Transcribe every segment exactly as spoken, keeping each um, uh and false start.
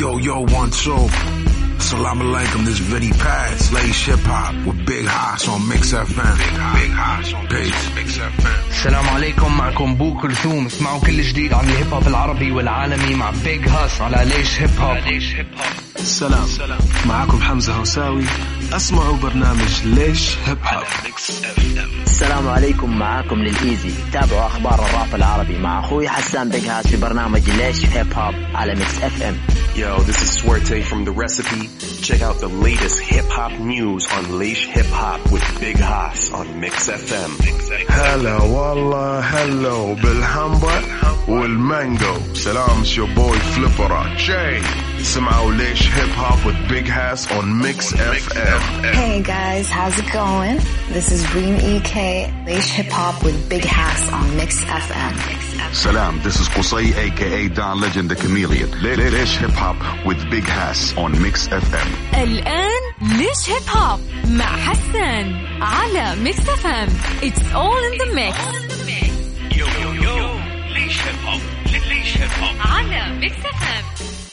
Yo, yo, one, two. Salam alaikum, this Viddy Paz, Lace Hip Hop with Big Haas on Mix F M. Big Haas on Mix F M. السلام عليكم, معكم بو كلثوم. اسمعوا كل جديد عن الهيب هوب العربي والعالمي مع بيج هاس على ليش هيب هوب. السلام, معكم حمزة هوساوي. اسمعوا برنامج ليش هيب هوب. السلام عليكم, معاكم للإيزي. تابعوا أخبار الراب العربي مع أخوي حسان بيج هاس في برنامج ليش هيب هوب على ميكس اف ام. Yo, this is Swerte from The Recipe. Check out the latest hip-hop news on Leish Hip Hop with Big Haas on Mix F M. Hello, wallah, hello, بالحمبة والمانجو. Salam, it's your boy Flipper Jay. Smile Leish Hip Hop with Big Haas on Mix F M. Hey guys, how's it going? This is Reem E K, Leish Hip Hop with Big Haas on Mix F M. Salam, this is Qusay aka Don Legend the Chameleon. Leish Hip Hop with Big Haas on Mix F M. الآن ليش هيب هوب مع حسان على ميكس اف ام. It's all in the mix. Yo, yo, yo, ليش هيب هوب, ليش هيب هوب على ميكس اف ام.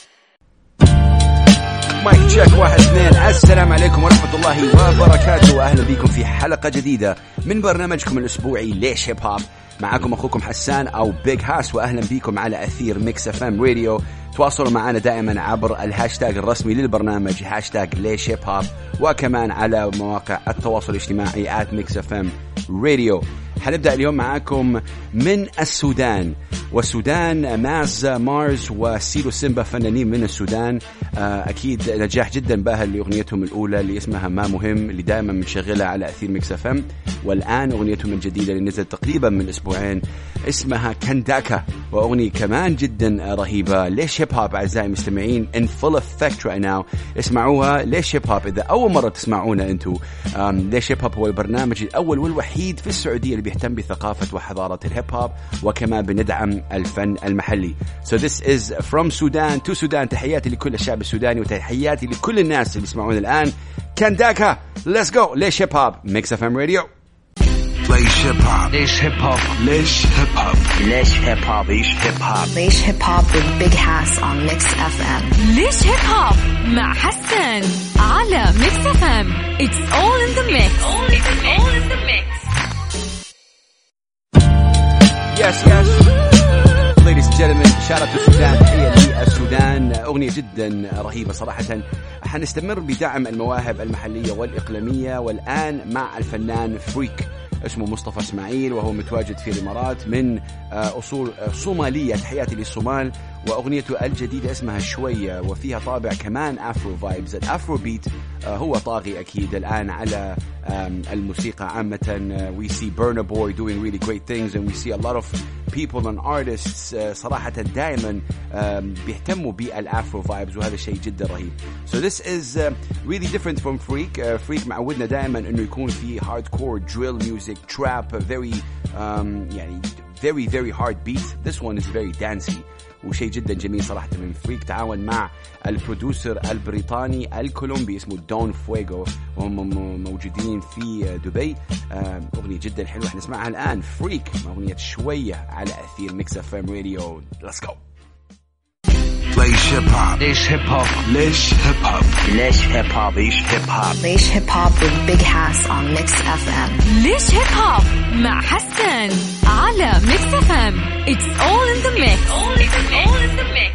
مايك تشيك واحد اثنين. السلام عليكم ورحمة الله وبركاته, وأهلا بكم في حلقة جديدة من برنامجكم الأسبوعي ليش هيب هوب. معكم أخوكم حسان أو بيج هاس, وأهلا بكم على أثير ميكس اف ام راديو. تواصلوا معنا دائما عبر الهاشتاج الرسمي للبرنامج هاشتاج ليش هيب هوب, وكمان على مواقع التواصل الاجتماعي آت ميكس اف ام راديو. حنبدأ اليوم معاكم من السودان, والسودان ماز مارز وسيلو سيمبا فنانين من السودان. أكيد نجاح جدا باهر لأغنيتهم الأولى اللي اسمها ما مهم, اللي دائما بنشغلها على أثير ميكس اف ام. والآن أغنيتهم الجديدة اللي نزلت تقريبا من أسبوعين اسمها كنداكا, وأغنية كمان جدا رهيبة. ليش هيب هوب أعزائي المستمعين in full effect right now. اسمعوها ليش هيب هوب إذا أول مرة تسمعونا أنتو. ليش هيب هوب هو البرنامج الأول والوحيد في السعودية اللي بيهتم بثقافة وحضارة الهيب هوب, وكمان بندعم الفن المحلي. So this is from Sudan to Sudan. تحياتي لكل الشعب السوداني, وتحياتي لكل الناس اللي يسمعون الآن. كنداكا, let's go. ليش هيب هوب ميكس اف ام راديو. ليش هيب هوب, ليش هيب هوب, ليش هيب هوب, ليش هيب هوب, ليش هيب هوب, ليش هيب هوب with Big Haas on Mix اف ام. ليش هيب هوب مع حسان على ميكس اف ام. It's all in the mix. It's all in the mix. Yes, yes. Ladies and gentlemen, shout out to Sudan. هي للسودان, أغنية جدا رهيبة صراحة. حنستمر بدعم المواهب المحلية والإقليمية, والآن مع الفنان فريك اسمه مصطفى اسماعيل, وهو متواجد في الإمارات من أصول صومالية. تحياتي للصومال. وأغنيته الجديدة اسمها شوية, وفيها طابع كمان أفرو فايبز. الأفرو بيت هو طاغي أكيد الآن على الموسيقى عامة. We see Burna Boy doing really great things, and we see a lot of people and artists صراحة دائما بيهتموا بالأفرو فايبز, وهذا شيء جدا رهيب. So this is really different from Freak. Freak معودنا دائما إنه يكون في hardcore drill music, trap, very um, يعني very very hard beat. This one is very dancey, وشيء جدا جميل صراحة من فريك. تعاون مع البرودوسر البريطاني الكولومبي اسمه دون فويغو, وهم موجودين في دبي. أغنية جدا حلوة حنسمعها الآن. فريك أغنية شوية على أثير ميكس اف ام راديو. Let's go. ليش هيب هوب, ليش هيب هوب, ليش هيب هوب, ليش هيب هوب, ليش هيب هوب, ليش هيب هوب with Big Haas on Mix اف ام. ليش هيب هوب مع حسان على ميكس اف ام. It's all in the mix. It's all in the mix.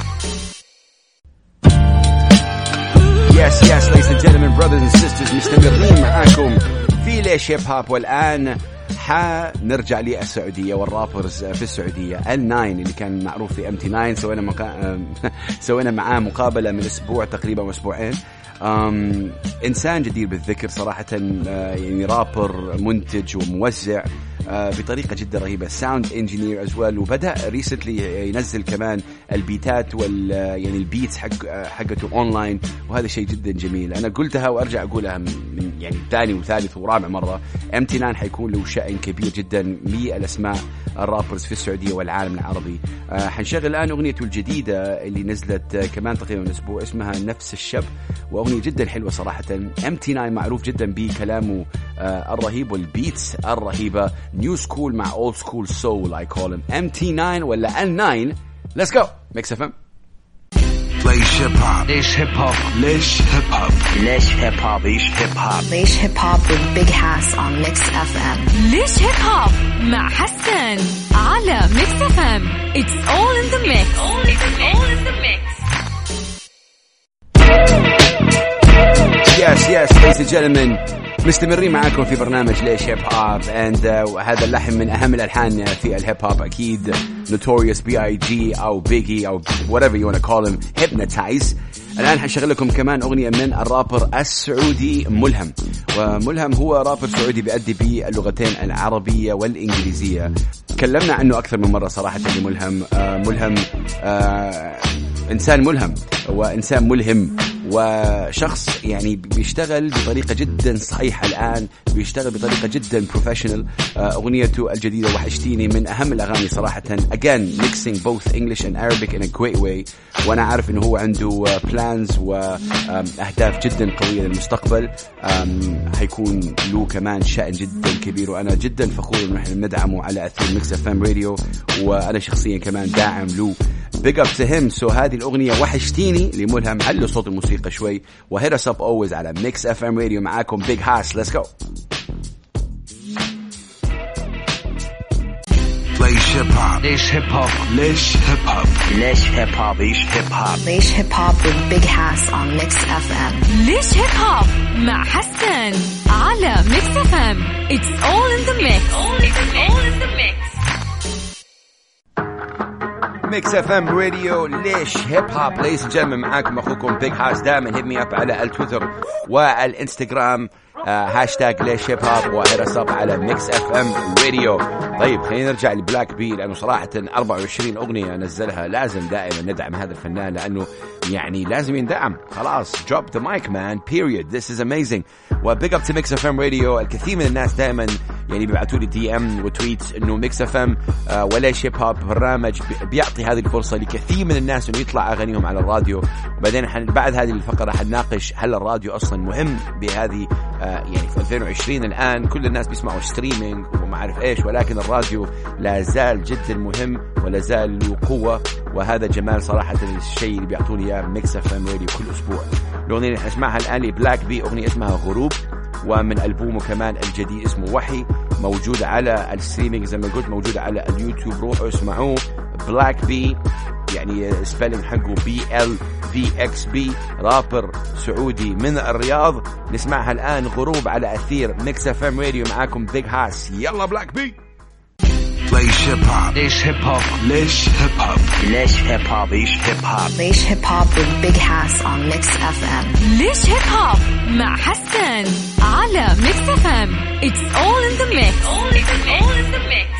Yes, yes, ladies and gentlemen, brothers and sisters, مستمرين معاكم في ليش هيب هوب. والآن حنرجع للسعودية والرابرز في السعودية. الناين اللي كان معروف في ام تي ناين, سوينا مقا... سوينا معاه مقابلة من أسبوع تقريبا وأسبوعين. أم... إنسان جدير بالذكر صراحة, يعني رابر منتج وموزع بطريقة جدا رهيبة, ساوند انجينير as well, وبدأ ريسنتلي ينزل كمان البيتات وال يعني البيتس حق حقته اونلاين, وهذا شيء جدا جميل. انا قلتها وارجع اقولها من يعني ثاني وثالث ورابع مرة. ام تي ناين حيكون له شأن كبير جدا للاسماء الرابرز في السعودية والعالم العربي. حنشغل الان اغنيته الجديدة اللي نزلت كمان تقريبا اسبوع, اسمها نفس الشب, واغنية جدا حلوة صراحة. ام تي ناين معروف جدا بكلامه الرهيب والبيتس الرهيبة. New school مع old school soul I call him. ام تي ناين ولا إل ناين. Let's go. Mix اف ام. ليش هيب هوب ليش هيب هوب ليش هيب هوب ليش هيب هوب ليش هيب هوب ليش hip hop with Big Hass on Mix إف إم. ليش هيب هوب مع حسان على ميكس اف ام. It's all in the mix. All in the mix. All in the mix. Yes, yes, ladies and gentlemen, مستمرين معاكم في برنامج ليش هيب هوب and uh, وهذا اللحن من أهم الألحان في الهيب هوب أكيد Notorious بي آي جي أو Biggie أو whatever you want to call him Hypnotize. الآن حنشغل لكم كمان أغنية من الرابر السعودي ملهم. وملهم هو رابر سعودي بيأدي باللغتين العربية والإنجليزية. تكلمنا عنه أكثر من مرة صراحة لملهم. آه ملهم آه إنسان ملهم وإنسان ملهم وشخص يعني بيشتغل بطريقة جدا صحيحة. الآن بيشتغل بطريقة جدا بروفيشنال. أغنيته الجديدة وحشتيني من أهم الأغاني صراحة. Again mixing both English and Arabic in a great way. وأنا عارف إنه هو عنده plans وأهداف جدا قوية للمستقبل. هيكون له كمان شأن جدا كبير وأنا جدا فخور إنه إحنا ندعمه على أثير ميكس إف إم راديو وأنا شخصيا كمان داعم له. Big up to him. So هذه الأغنية وحشتيني لملهم. علوا صوت الموسيقى شوي و hit us up always على Mix إف إم Radio. معاكم Big Hass. Let's go. ليش هيب هوب ليش هيب هوب ليش هيب هوب ليش هيب هوب ليش هيب هوب ليش hip hop with Big Hass on Mix إف إم. ليش هيب هوب مع حسان على ميكس اف ام. It's all in the mix. All in the mix. All in the mix. ميكس اف ام راديو ليش هيب هوب. ليس جمع معاكم اخوكم بيج هاس. دائما هيد مي اب على التويتر والانستغرام هاشتاج ليش هيب هوب وهرساب على ميكس اف ام راديو. طيب خلينا نرجع لبلاك بي لانه صراحه أربعة وعشرين اغنيه نزلها. لازم دائما ندعم هذا الفنان لانه يعني لازم يندعم. خلاص drop the mic man period. This is amazing. وبيج اب تو ميكس اف ام راديو. الكثير من الناس دائما يعني بيبعتوا لي دي ام وتويتس انه ميكس اف ام وليش هيب هوب برنامج بيعطي هذه الفرصه لكثير من الناس انه يطلع اغانيهم على الراديو. وبعدين حن بعد هذه الفقره حنناقش هل الراديو اصلا مهم بهذه يعني في ألفين وعشرين. الان كل الناس بيسمعوا ستريمينج وما عارف ايش ولكن الراديو لا زال جدا مهم ولا زال له قوه. وهذا جمال صراحه الشيء اللي بيعطوني اياه ميكس اف ام راديو كل اسبوع. الاغنيه اللي نسمعها الان لبلاك بي اغنيه اسمها غروب ومن ألبومه كمان الجديد اسمه وحي موجود على الستريمينج زي ما قلت موجود على اليوتيوب. روحوا اسمعوه. بلاك بي يعني سبيلنج حقه بي ال في اكس بي. رابر سعودي من الرياض. نسمعها الآن غروب على أثير ميكس اف ام راديو. معاكم بيج هاس. يلا بلاك بي. ليش هيب هوب ليش هيب هوب ليش هيب هوب ليش هيب هوب ليش هيب هوب ليش hip hop with Big Hass on Mix إف إم. ليش هيب هوب مع حسان على ميكس اف ام. It's all in the mix. All in the mix. All in the mix.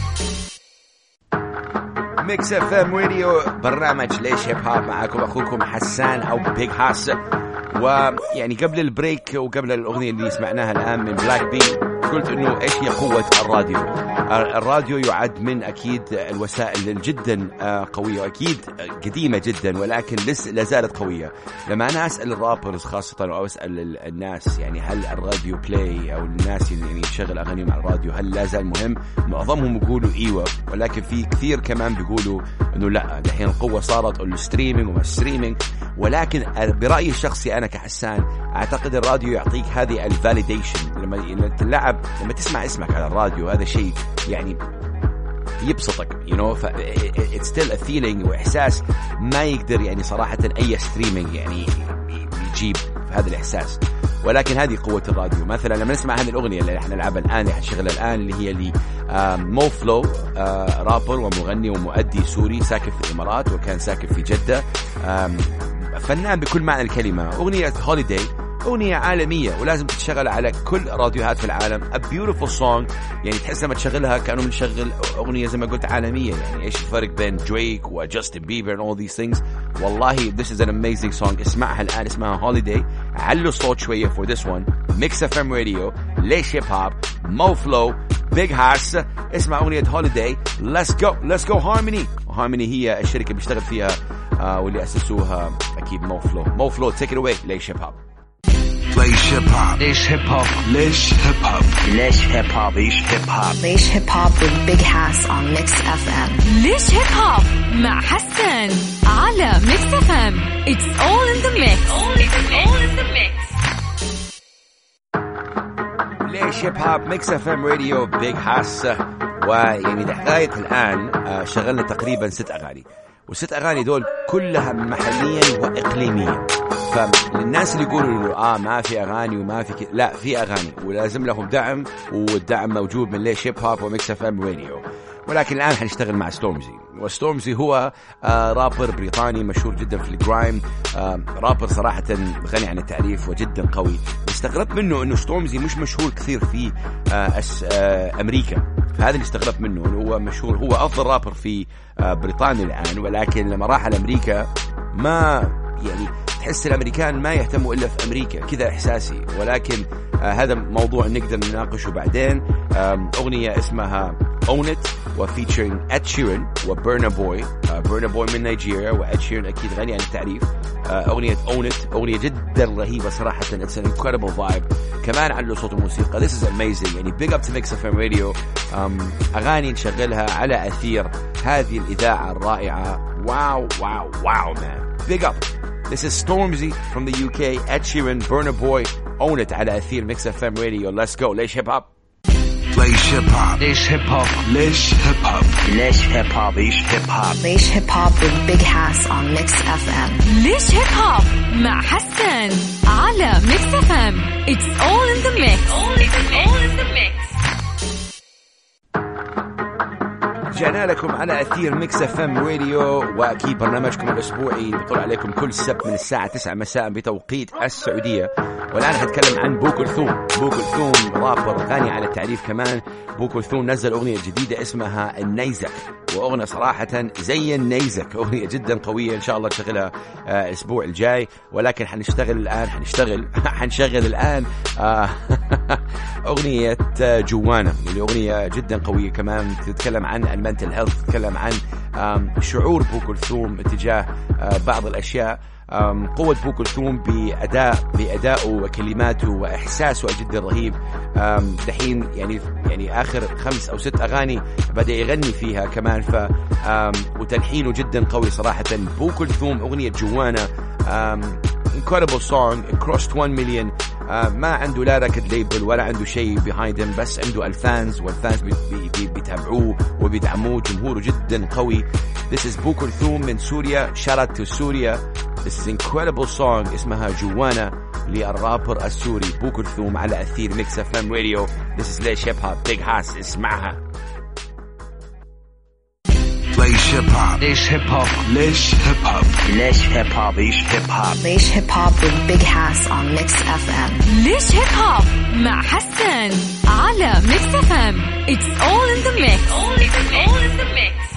ميكس اف ام راديو برنامج ليش هيب هوب. معاكم اخوكم حسان او بيج هاس. ويعني قبل البريك وقبل الاغنيه اللي سمعناها الان من بلاك بي قلت انه ايش هي قوه الراديو. الراديو يعد من اكيد الوسائل جدا قويه واكيد قديمه جدا ولكن لسه لا زالت قويه. لما انا اسال الرابرز خاصه او اسال الناس يعني هل الراديو بلاي او الناس يعني يشغل اغاني مع الراديو هل لا زال مهم؟ معظمهم يقولوا ايوه ولكن في كثير كمان بيقولوا انه لا الحين القوه صارت الستريمينج وما الستريمينج. ولكن برايي الشخصي انا كحسان اعتقد الراديو يعطيك هذه الفاليديشن. لما تلعب لما تسمع اسمك على الراديو هذا شيء يعني يبسطك you know ف it's still a feeling وإحساس ما يقدر يعني صراحة أي ستريمينج يعني يجيب هذا الإحساس. ولكن هذه قوة الراديو. مثلا لما نسمع هذه الأغنية اللي احنا نلعبها الآن اللي حنشغلها الآن اللي هي لي مو فلو رابر ومغني ومؤدي سوري ساكن في الإمارات وكان ساكن في جدة. فنان بكل معنى الكلمة. أغنية هوليداي أغنية عالمية ولازم تتشغل على كل راديوهات في العالم. A beautiful song يعني تحس لما تشغلها كأنه بنشغل أغنية زي ما قلت عالمية. يعني إيش الفرق بين دريك وجاستن بيبر and all these things. والله this is an amazing song. اسمعها الآن اسمها Holiday. علوا الصوت شوية for this one. Mix إف إم Radio ليش هيب هوب مو فلو Big Hass. اسمع أغنية Holiday. Let's go let's go Harmony. Harmony هي الشركة بيشتغل فيها آه واللي أسسوها أكيد مو فلو. مو فلو take it away ليش هيب هوب. ليش هيب هوب ليش هيب هوب ليش هيب هوب ليش هيب هوب ليش هيب هوب ليش hip hop with Big Hass on Mix إف إم. ليش هيب هوب مع حسن على ميكس اف ام. It's all in the mix. All in the mix. ليش هيب هوب ميكس اف ام راديو بيج هاس. ويعني لغاية الآن شغلنا تقريبا ست أغاني، والست أغاني دول كلها محليا وإقليميا. فالناس اللي يقولوا إنه آه ما في أغاني وما في كده، لا في أغاني ولازم لهم دعم، والدعم موجود من ليش هيب هوب وميكس اف ام راديو. ولكن الآن حنشتغل مع ستورمزي، وستورمزي هو آه رابر بريطاني مشهور جدا في الجرايم، آه رابر صراحة غني عن التعريف وجدا قوي. استغربت منه إنه ستورمزي مش مشهور كثير في آه آه أمريكا، فهذا اللي استغربت منه. إنه هو مشهور، هو أفضل رابر في آه بريطانيا الآن، ولكن لما راح لأمريكا ما يعني تحس الأمريكان ما يهتموا إلا في أمريكا، كذا إحساسي. ولكن آه هذا موضوع نقدر نناقشه بعدين. آه أغنية اسمها Own It وفيتشرين Ed Sheeran وبرنا بوي. برنا بوي من نيجيريا، وإد شيرن أكيد غني عن التعريف. أغنية Own It أغنية جدا رهيبة صراحة. It's an incredible vibe. كمان عنده صوت وموسيقى. This is amazing. يعني big up to Mix إف إم Radio. أغاني نشغلها على أثير هذه الإذاعة الرائعة. واو واو واو man. Big up. This is Stormzy from the U K. Ed Sheeran, Burna Boy. Own It على أثير Mix إف إم Radio. Let's go. ليش هيب هوب ليش هيب هوب ليش هيب هوب ليش هيب هوب ليش هيب هوب ليش هيب هوب ليش hip hop with Big Hass on Mix إف إم. ليش هيب هوب مع حسن على ميكس اف ام. It's all in the mix. All in the mix. رجعنا لكم على أثير ميكس اف ام راديو، وأكيد برنامجكم الأسبوعي بيطلع عليكم كل سبت من الساعة تسعة مساء بتوقيت السعودية. والآن حتكلم عن بو كلثوم. بو كلثوم رابر غني عن التعريف كمان. بو كلثوم نزل أغنية جديدة اسمها النيزك، وأغنية صراحة زي النيزك، أغنية جدا قوية. إن شاء الله نشغلها آه الأسبوع الجاي. ولكن حنشتغل الآن حنشتغل حنشغل الآن آه أغنية جوانا، اللي أغنية جدا قوية كمان. تتكلم عن المنتل هيلث، تتكلم عن شعور بو كلثوم اتجاه بعض الأشياء. قوة بو كلثوم بأداء بأدائه وكلماته وإحساسه جدا رهيب. دحين يعني يعني آخر خمس أو ست أغاني بدأ يغني فيها كمان، ف وتلحينه جدا قوي صراحة. بو كلثوم أغنية جوانا incredible song. It crossed one million. uh, ما عنده لا ركد ليبل ولا عنده شيء behind him، بس عنده الفانز، والفانز بي بي بيتابعوه وبيدعموه. جمهوره جدا قوي. This is بو كلثوم من سوريا. shout out to سوريا. This is incredible song اسمها جوانا للرابر السوري بو كلثوم على أثير ميكس اف ام راديو. This is ليش هيب هوب بيج هاس. اسمعها. ليش هيب هوب ليش هيب هوب ليش هيب هوب ليش هيب هوب ليش هيب هوب ليش hip hop with Big Hass on Mix إف إم. ليش هيب هوب مع حسن على ميكس اف ام. It's all in the mix. All in the mix.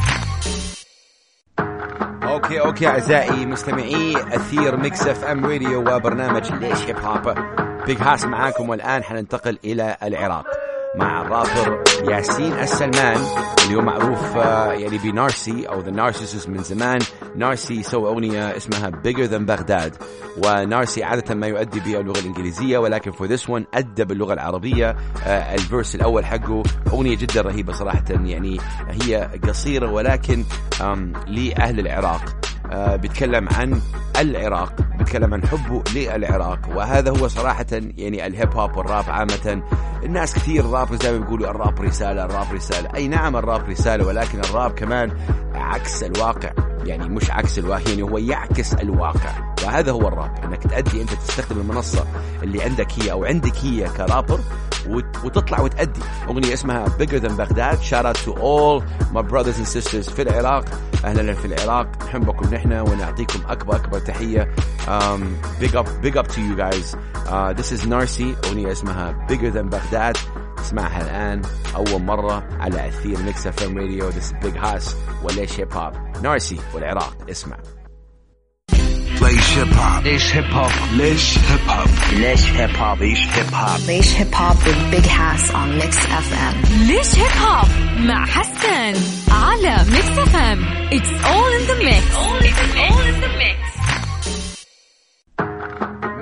اوكي اوكي اعزائي مستمعي اثير ميكس اف ام راديو وبرنامج ليش هيب هوب بيج هاس معاكم. والان حننتقل الى العراق مع الرابر ياسين السلمان، اللي هو معروف يعني بنارسي او ذا نارسيسس من زمان. نارسي سوى اغنيه اسمها Bigger Than Baghdad، ونارسي عاده ما يؤدي باللغه الانجليزيه، ولكن for this one ادى باللغه العربيه. الفيرس الاول حقه اغنيه جدا رهيبه صراحه. يعني هي قصيره ولكن لاهل العراق. آه بيتكلم عن العراق، بيتكلم عن حبه للعراق، وهذا هو صراحة يعني الهيب هوب والراب عامة. الناس كثير الراب زي ما بيقولوا الراب رسالة، الراب رسالة. أي نعم الراب رسالة، ولكن الراب كمان عكس الواقع. يعني مش عكس الواقع، يعني هو يعكس الواقع، وهذا هو الراب. انك تأدي، انت تستخدم المنصة اللي عندك هي او عندك هي كرابر وتطلع وتأدي. أغنية اسمها Bigger Than Baghdad. Shout out to all my brothers and sisters في العراق. أهلا في العراق، نحبكم نحن ونعطيكم أكبر أكبر تحية. um, big up big up to you guys. uh, This is Narsi. أغنية اسمها Bigger Than Baghdad. اسمعها الآن أول مرة على أثير ميكس اف ام راديو. This is Big Hass وليش هيب هوب. نارسي والعراق. اسمع. ليش هيب هوب ليش هيب هوب ليش هيب هوب ليش هيب هوب ليش هيب هوب ليش hip hop with Big Hass on Mix إف إم. ليش هيب هوب مع حسن على ميكس اف ام. It's all in the mix. All in the mix.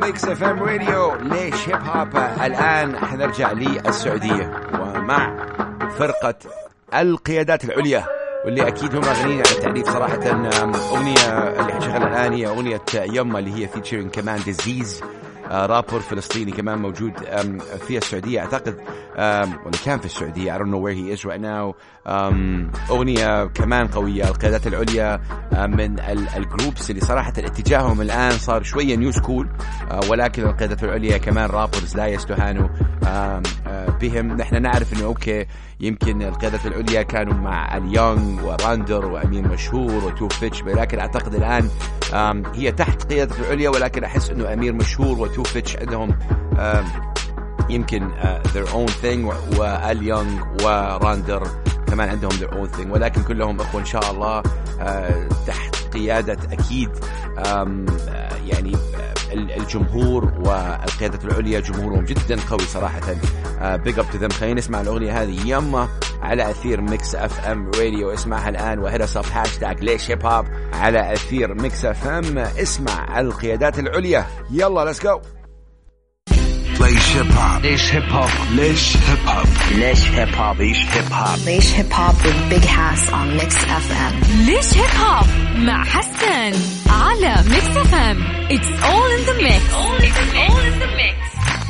ميكس اف ام راديو ليش هيب هوب. الآن حنرجع للسعودية ومع فرقة القيادات العليا، واللي أكيد هم غنيين عن التعريف صراحة. أغنية اللي حنشغلها الآن هي أغنية يما اللي هي فيتشرين كمان ديزيز، رابر فلسطيني كمان موجود في السعودية أعتقد، ولا كان في السعودية. I don't know where he is right now. أغنية كمان قوية. القيادات العليا من الجروبس اللي صراحة اتجاههم الآن صار شوية نيو سكول، ولكن القيادات العليا كمان رابرز لا يستهانوا بهم. نحن نعرف إنه أوكي يمكن القيادات العليا كانوا مع اليونغ وراندر وأمين مشهور وتو فيتش، ولكن أعتقد الآن هي تحت قيادة العليا، ولكن أحس إنه أمير مشهور وتو فيتش عندهم يمكن their own thing، واليونغ وراندر كمان عندهم their own thing، ولكن كلهم أخوة إن شاء الله تحت قيادة أكيد يعني الجمهور. والقيادة العليا جمهورهم جدا قوي صراحة. big up to them. خلينا نسمع الأغنية هذه يما على أثير ميكس اف ام راديو. اسمعها الآن وهرس اب هاشتاج ليش هيب هوب على أثير ميكس اف ام. اسمع القيادات العليا. يلا let's go. ليش هيب هوب. ليش هيب هوب. ليش هيب هوب. ليش هيب هوب. ليش هيب هوب. ليش هيب هوب with Big Hass on Mix اف ام. ليش هيب هوب مع حسان على ميكس اف ام. It's all in the mix. All in the mix. All in the mix.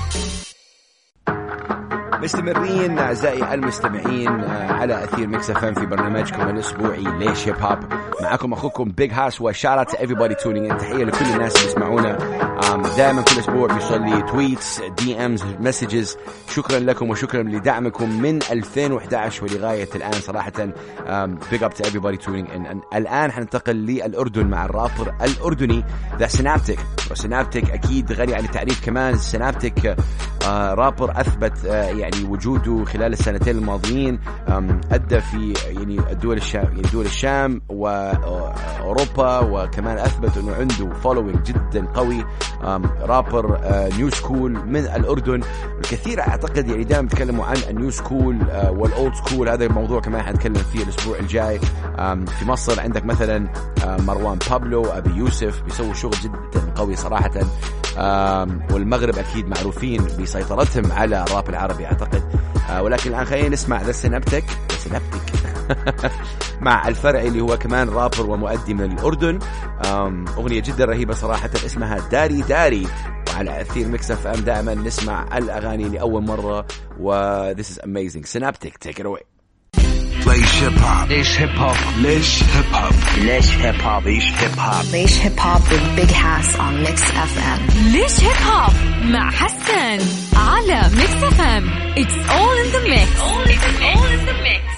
مستمرين أعزائي المستمعين على أثير ميكس اف ام في برنامجكم الأسبوعي ليش هيب هوب. معكم أخوكم بيج هاس، وشارات everybody tuning in. تحية لكل الناس اللي يسمعونا دائما كل أسبوع بيوصل لي تويتس دي امز مسجز. شكرا لكم وشكرا لدعمكم من ألفين وإحدى عشر ولغاية الآن صراحة. big up to everybody tuning in. الآن حننتقل للأردن مع الرابر الأردني ذا سينابتيك. وسينابتيك أكيد غني عن التعريف كمان. سينابتيك رابر أثبت يعني وجوده خلال السنتين الماضيين. أدى في يعني الدول الشام يعني دول الشام وأوروبا، وكمان أثبت إنه عنده following جدا قوي. رابر نيو سكول من الأردن. الكثير أعتقد يعني دائما بيتكلموا عن النيو سكول والأولد سكول. هذا الموضوع كمان حنتكلم فيه الأسبوع الجاي. في مصر عندك مثلا مروان بابلو، أبي يوسف بيسووا شغل جدا قوي صراحة. والمغرب أكيد معروفين بسيطرتهم على الراب العربي أعتقد. ولكن الآن خلينا نسمع ذا سينابتيك سينابتيك مع الفرعي اللي هو كمان رابر ومؤدي من الأردن. أغنية جدا رهيبة صراحة اسمها داري داري. وعلى أثير ميكس اف ام دائما نسمع الأغاني لأول مرة، و this is amazing. سينابتيك take it away. ليش هيب هوب. ليش هيب هوب. ليش هيب هوب. ليش هيب هوب. ليش هيب هوب. ليش هيب هوب with Big Hass on Mix اف ام. ليش هيب هوب مع حسان على ميكس اف ام. It's all in the mix. All in the mix. All in the mix.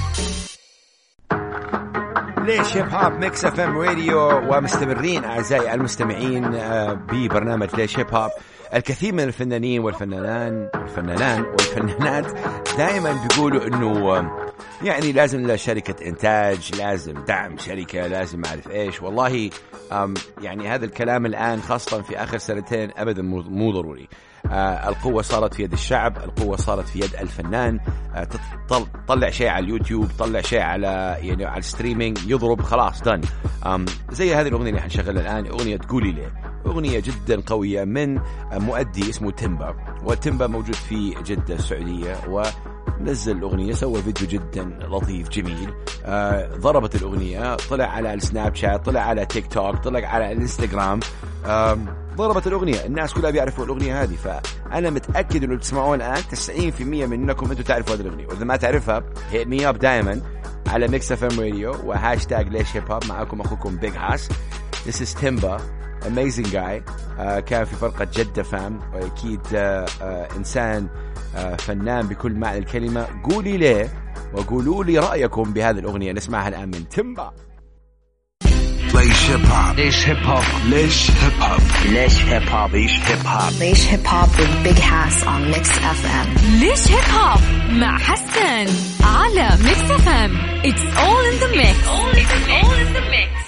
ليش هيب هوب ميكس اف ام راديو. ومستمرين أعزائي المستمعين ببرنامج ليش هيب هوب. الكثير من الفنانين والفنانان والفنانان والفنانات دائما بيقولوا انه يعني لازم لشركة انتاج، لازم دعم شركة، لازم اعرف ايش. والله يعني هذا الكلام الان خاصة في اخر سنتين ابدا مو ضروري. آه القوة صارت في يد الشعب، القوة صارت في يد الفنان. آه تطلع شيء على اليوتيوب، تطلع شيء على يعني على الستريمينج، يضرب خلاص دن. زي هذه الأغنية اللي حنشغلها الآن، أغنية تقولي ليه. أغنية جدا قوية من مؤدي اسمه تيمبا. وتيمبا موجود في جدة السعودية، ونزل الأغنية، سوى فيديو جدا لطيف جميل. آه ضربت الأغنية، طلع على السناب شات، طلع على تيك توك، طلع على الانستغرام. آه ضربت الأغنية، الناس كلها بيعرفوا الأغنية هذه. فأنا متأكد إنه تسمعون الآن تسعين بالمئة منكم أنتوا تعرفوا هذه الأغنية، وإذا ما تعرفها hit me up دائما على ميكس اف ام راديو وهاشتاج ليش هيب هوب. معكم أخوكم بيج هاس. This is Timba, amazing guy. uh, كان في فرقة جدة فام، وأكيد uh, uh, إنسان uh, فنان بكل معنى الكلمة. قولي ليه وقولوا لي رأيكم بهذه الأغنية. نسمعها الآن من تيمبا. ليش هيب هوب. ليش هيب هوب. ليش هيب هوب. ليش هيب هوب. ليش هيب هوب. ليش هيب هوب with Big Hass on Mix اف ام. ليش هيب هوب مع حسان على ميكس اف ام. It's all in the mix. All in the mix. All in the mix.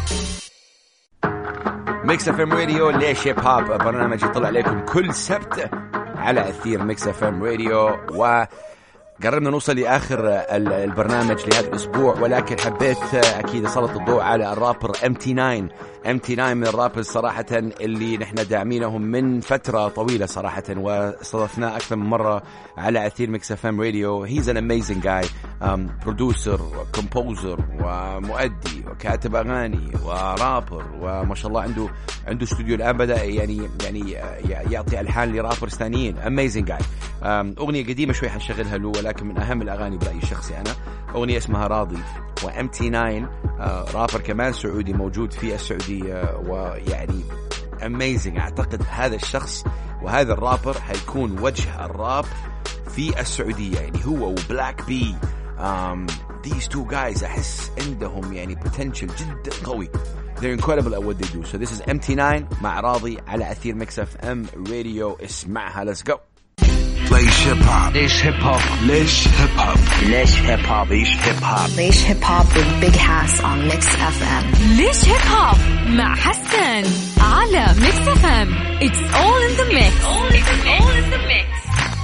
ميكس اف ام راديو ليش هيب هوب، برنامج يطلع عليكم كل سبت على أثير ميكس اف ام راديو. و قربنا نوصل لآخر البرنامج لهذا الأسبوع، ولكن حبيت أكيد أسلط الضوء على الرابر إم تي ناين. إم تي ناين من الرابرز صراحة اللي نحن داعمينهم من فترة طويلة صراحة، واستضفناه أكثر من مرة على أثير ميكس اف ام راديو. he's an amazing guy, um, producer وكومبوزر ومؤدي وكاتب أغاني ورابر، وما شاء الله عنده عنده استوديو الآن بدأ يعني يعني يعطي ألحان لرابرز ثانيين. amazing guy. um, أغنية قديمة شوي حنشغلها له، ولكن من أهم الأغاني برأيي الشخصي أنا أغنية اسمها راضي. وإم تي ناين آه رابر كمان سعودي موجود في السعودية، ويعني amazing. أعتقد هذا الشخص وهذا الرابر هيكون وجه الراب في السعودية، يعني هو وبلاك بي. um, these two guys أحس عندهم يعني potential جدا قوي. they're incredible at what they do. so this is إم تي ناين مع راضي على أثير ميكس اف ام راديو. اسمعها. let's go. ليش هيب هوب؟ ليش هيب هوب؟ ليش هيب هوب؟ ليش هيب هوب؟ ليش هيب هوب؟ ليش هيب هوب with Big Hass on Mix إف إم. ليش هيب هوب مع حسان على ميكس اف ام. It's all in the mix. It's all in the mix.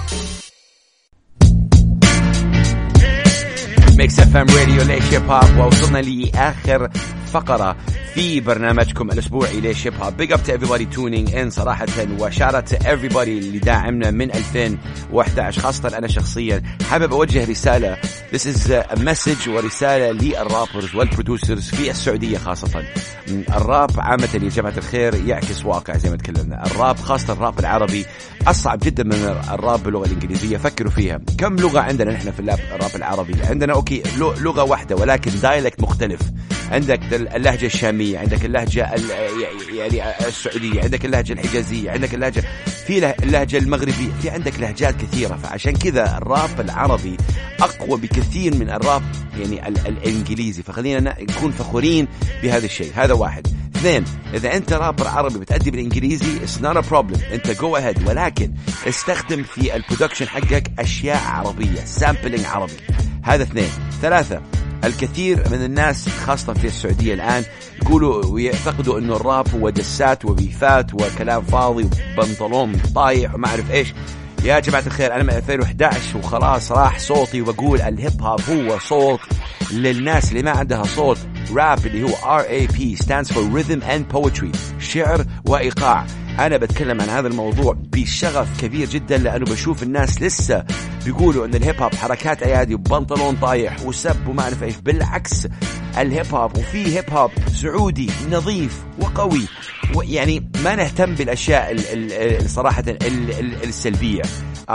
ميكس اف ام راديو ليش هيب هوب، ووصلنا لآخر فقرة في برنامجكم الأسبوعي ليش هيب هوب. big up to everybody tuning in صراحة، وشارة to everybody اللي داعمنا من ألفين وأحد عشر. خاصة أنا شخصيا حابب أوجه رسالة. this is a message ورسالة للرابرز والبرودوسرز في السعودية خاصة. الراب عامة يا جماعة الخير يعكس واقع زي ما تكلمنا. الراب خاصة الراب العربي أصعب جدا من الراب باللغة الإنجليزية. فكروا فيها، كم لغة عندنا نحن في الراب العربي؟ عندنا أوكي لغة واحدة ولكن دايلكت مختلف. عندك اللهجة الشامية، عندك اللهجة يعني السعودية، عندك اللهجة الحجازية، عندك اللهجة في اللهجة المغربية، في عندك لهجات كثيرة. فعشان كذا الراب العربي أقوى بكثير من الراب يعني الإنجليزي. فخلينا نكون فخورين بهذا الشيء. هذا واحد. اثنين، إذا أنت رابر عربي بتأدي بالإنجليزي it's not a problem، أنت go ahead، ولكن استخدم في البرودكشن حقك أشياء عربية، سامبلينج عربي. هذا اثنين. ثلاثة، الكثير من الناس خاصة في السعودية الآن يقولوا ويعتقدوا إنه الراب هو دسات وبيفات وكلام فاضي وبنطلون طايح وما أعرف إيش. يا جماعة الخير، أنا من ألفين وأحد عشر وخلاص راح صوتي، وبقول الهيب هوب هو صوت للناس اللي ما عندها صوت. راب اللي هو آر إيه بي stands for Rhythm and Poetry، شعر وإيقاع. أنا بتكلم عن هذا الموضوع بشغف كبير جدا، لأنه بشوف الناس لسه بيقولوا أن الهيب هوب حركات أيادي وبنطلون طايح وسب وما أعرف إيش. بالعكس، الهيب هوب وفي هيب هوب سعودي نظيف وقوي، ويعني ما نهتم بالأشياء الصراحة السلبية.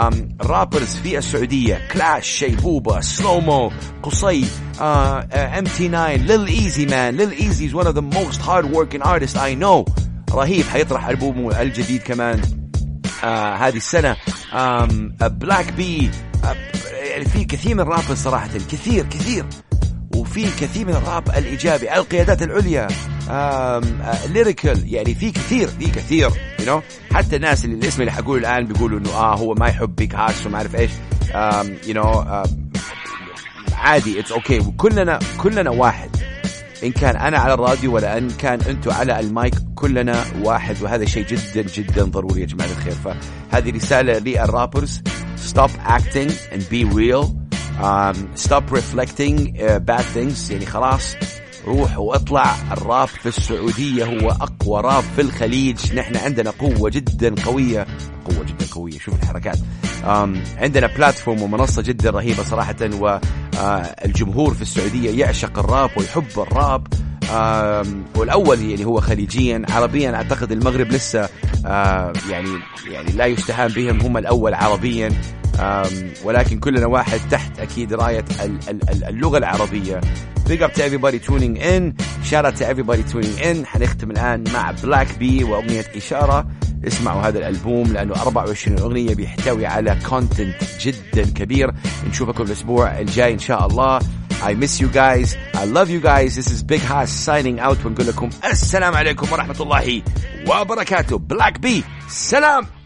رابرز في السعودية كلاش، شيبوبة، سلومو، قصي، إم تي ناين، ليل إيزي مان. ليل إيزي is one of the most hard working artists I know. رهيب، حيطرح ألبومه الجديد كمان آه هذه السنة. بلاك بي، يعني في كثير من الراب صراحة، كثير كثير، وفي كثير من الراب الإيجابي. القيادات العليا، ليريكال، يعني في كثير في كثير you know. حتى الناس اللي الاسم اللي حقوله الآن بيقولوا إنه آه هو ما يحب بيج هاس وما أعرف إيش. you know عادي، it's okay. وكلنا كلنا واحد، إن كان أنا على الراديو ولا إن كان أنتوا على المايك، كلنا واحد، وهذا شيء جدا جدا ضروري يا جماعة الخير. فهذه رسالة للرابرز: stop acting and be real, um, stop reflecting uh, bad things. يعني خلاص روح واطلع. الراب في السعودية هو أقوى راب في الخليج. نحن عندنا قوة جدا قوية، قوة جدا قوية. شوف الحركات. um, عندنا بلاتفورم ومنصة جدا رهيبة صراحة، والجمهور في السعودية يعشق الراب ويحب الراب. والأول يعني هو خليجيا. عربيا أعتقد المغرب لسه يعني يعني لا يستهان بهم، هم الأول عربيا، ولكن كلنا واحد تحت أكيد راية اللغة العربية. big up to everybody tuning in, shout out to everybody tuning in. حنختم الآن مع بلاك بي وأغنية إشارة. اسمعوا هذا الألبوم لأنه أربعة وعشرين أغنية بيحتوي على content جدا كبير. نشوفكم الأسبوع الجاي إن شاء الله. I miss you guys, I love you guys. This is Big Hass signing out ونقول لكم السلام عليكم ورحمة الله وبركاته. بلاك بي، سلام.